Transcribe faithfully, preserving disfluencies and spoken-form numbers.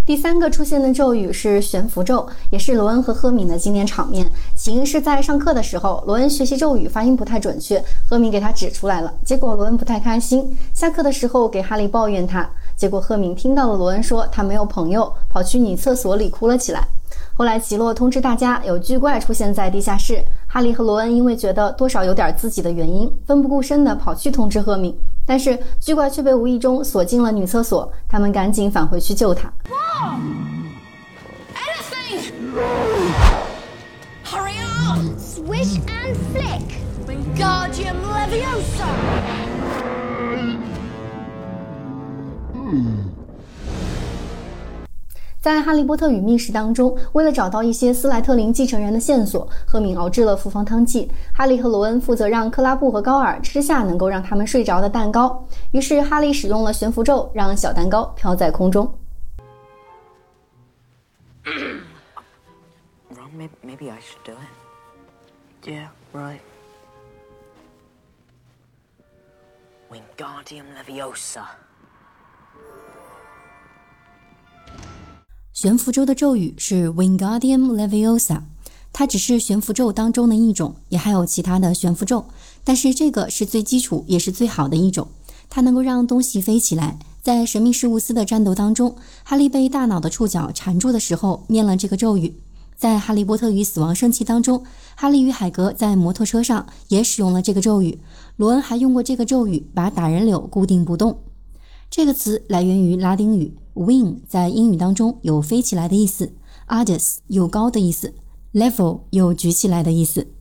第三个出现的咒语是悬浮咒，也是罗恩和赫敏的经典场面。起因是在上课的时候，罗恩学习咒语发音不太准确，赫敏给他指出来了，结果罗恩不太开心，下课的时候给哈利抱怨他，结果赫敏听到了罗恩说他没有朋友，跑去女厕所里哭了起来。后来奇洛通知大家有巨怪出现在地下室，哈利和罗恩因为觉得多少有点自己的原因，奋不顾身地跑去通知赫敏，但是巨怪却被无意中锁进了女厕所，他们赶紧返回去救他。 Hurry up! Swish and flick! Wingardium Leviosa! 在《哈利波特与密室》当中，为了找到一些斯莱特林继承人的线索，赫敏熬制了复方汤剂，哈利和罗恩负责让克拉布和高尔吃下能够让他们睡着的蛋糕，于是哈利使用了悬浮咒，让小蛋糕飘在空中。 Ron, maybe, maybe I should do it. Yeah, right. Wingardium Leviosa. 悬浮咒的咒语是 Wingardium Leviosa， 它只是悬浮咒当中的一种，也还有其他的悬浮咒，但是这个是最基础也是最好的一种，它能够让东西飞起来。在神秘事务司的战斗当中，哈利被大脑的触角缠住的时候念了这个咒语。在哈利波特与死亡圣器当中，哈利与海格在摩托车上也使用了这个咒语，罗恩还用过这个咒语把打人柳固定不动。这个词来源于拉丁语， wing 在英语当中有飞起来的意思， ardus 有高的意思， level 有举起来的意思。